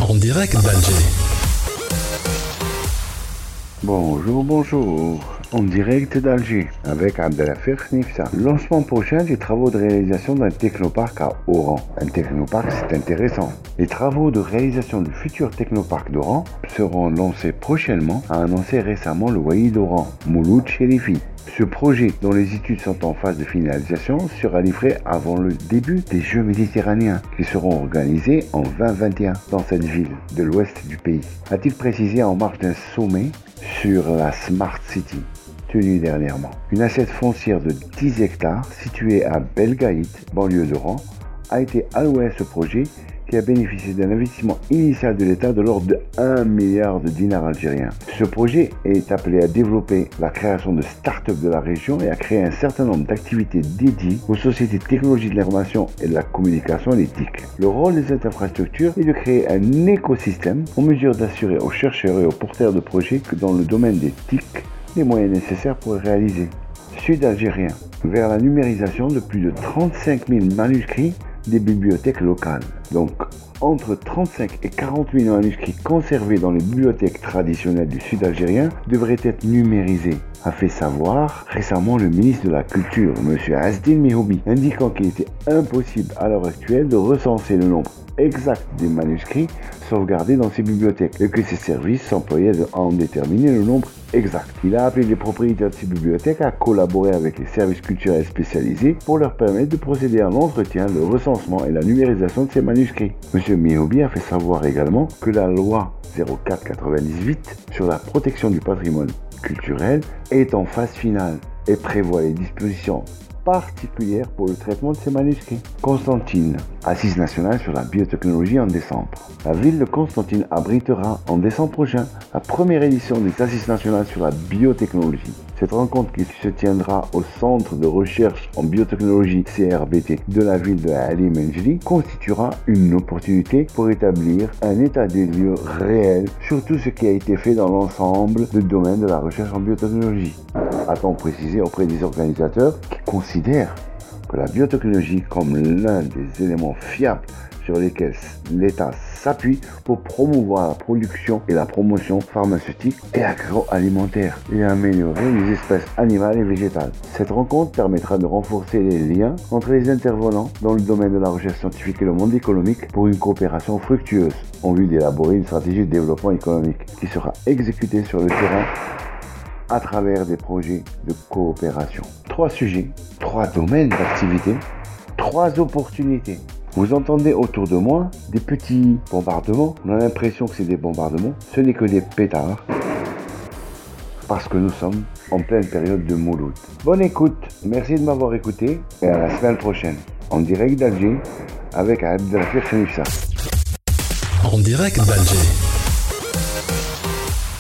En direct d'Alger. Bonjour, en direct d'Alger, avec Abdelafir Nifsa. Lancement prochain des travaux de réalisation d'un technoparc à Oran. Un technoparc, c'est intéressant. Les travaux de réalisation du futur technoparc d'Oran seront lancés prochainement, a annoncé récemment le Wali d'Oran, Mouloud Cherifi. Ce projet, dont les études sont en phase de finalisation, sera livré avant le début des Jeux méditerranéens, qui seront organisés en 2021 dans cette ville de l'ouest du pays. A-t-il précisé en marge d'un sommet sur la Smart City, tenu dernièrement. Une assiette foncière de 10 hectares située à Belgaït, banlieue d'Oran, a été allouée à ce projet qui a bénéficié d'un investissement initial de l'État de l'ordre de 1 milliard de dinars algériens. Ce projet est appelé à développer la création de start-up de la région et à créer un certain nombre d'activités dédiées aux sociétés de technologie de l'information et de la communication, les TIC. Le rôle des infrastructures est de créer un écosystème en mesure d'assurer aux chercheurs et aux porteurs de projets que dans le domaine des TIC, les moyens nécessaires pour les réaliser. Sud algérien, vers la numérisation de plus de 35 000 manuscrits des bibliothèques locales. Donc, entre 35 et 40 000 manuscrits conservés dans les bibliothèques traditionnelles du sud algérien devraient être numérisés, a fait savoir récemment le ministre de la Culture, M. Azdine Mehoubi, indiquant qu'il était impossible à l'heure actuelle de recenser le nombre exact des manuscrits sauvegardés dans ces bibliothèques et que ces services s'employaient à en déterminer le nombre exact. Il a appelé les propriétaires de ces bibliothèques à collaborer avec les services culturels spécialisés pour leur permettre de procéder à l'entretien, le recensement et la numérisation de ces manuscrits. M. Mehoubi a fait savoir également que la loi 04/98 sur la protection du patrimoine culturel est en phase finale et prévoit les dispositions particulière pour le traitement de ces manuscrits. Constantine, assise nationale sur la biotechnologie en décembre. La ville de Constantine abritera en décembre prochain la première édition des assises nationales sur la biotechnologie. Cette rencontre qui se tiendra au centre de recherche en biotechnologie CRBT de la ville de Ali Menjli constituera une opportunité pour établir un état des lieux réel sur tout ce qui a été fait dans l'ensemble du domaine de la recherche en biotechnologie. A-t-on précisé auprès des organisateurs qui considèrent que la biotechnologie comme l'un des éléments fiables sur lesquels l'État s'appuie pour promouvoir la production et la promotion pharmaceutique et agroalimentaire et améliorer les espèces animales et végétales. Cette rencontre permettra de renforcer les liens entre les intervenants dans le domaine de la recherche scientifique et le monde économique pour une coopération fructueuse en vue d'élaborer une stratégie de développement économique qui sera exécutée sur le terrain à travers des projets de coopération. 3 sujets, 3 domaines d'activité, 3 opportunités. Vous entendez autour de moi des petits bombardements. On a l'impression que c'est des bombardements. Ce n'est que des pétards. Parce que nous sommes en pleine période de Mouloud. Bonne écoute. Merci de m'avoir écouté. Et à la semaine prochaine. En direct d'Alger avec Abdelafir Nifsa. En direct d'Alger.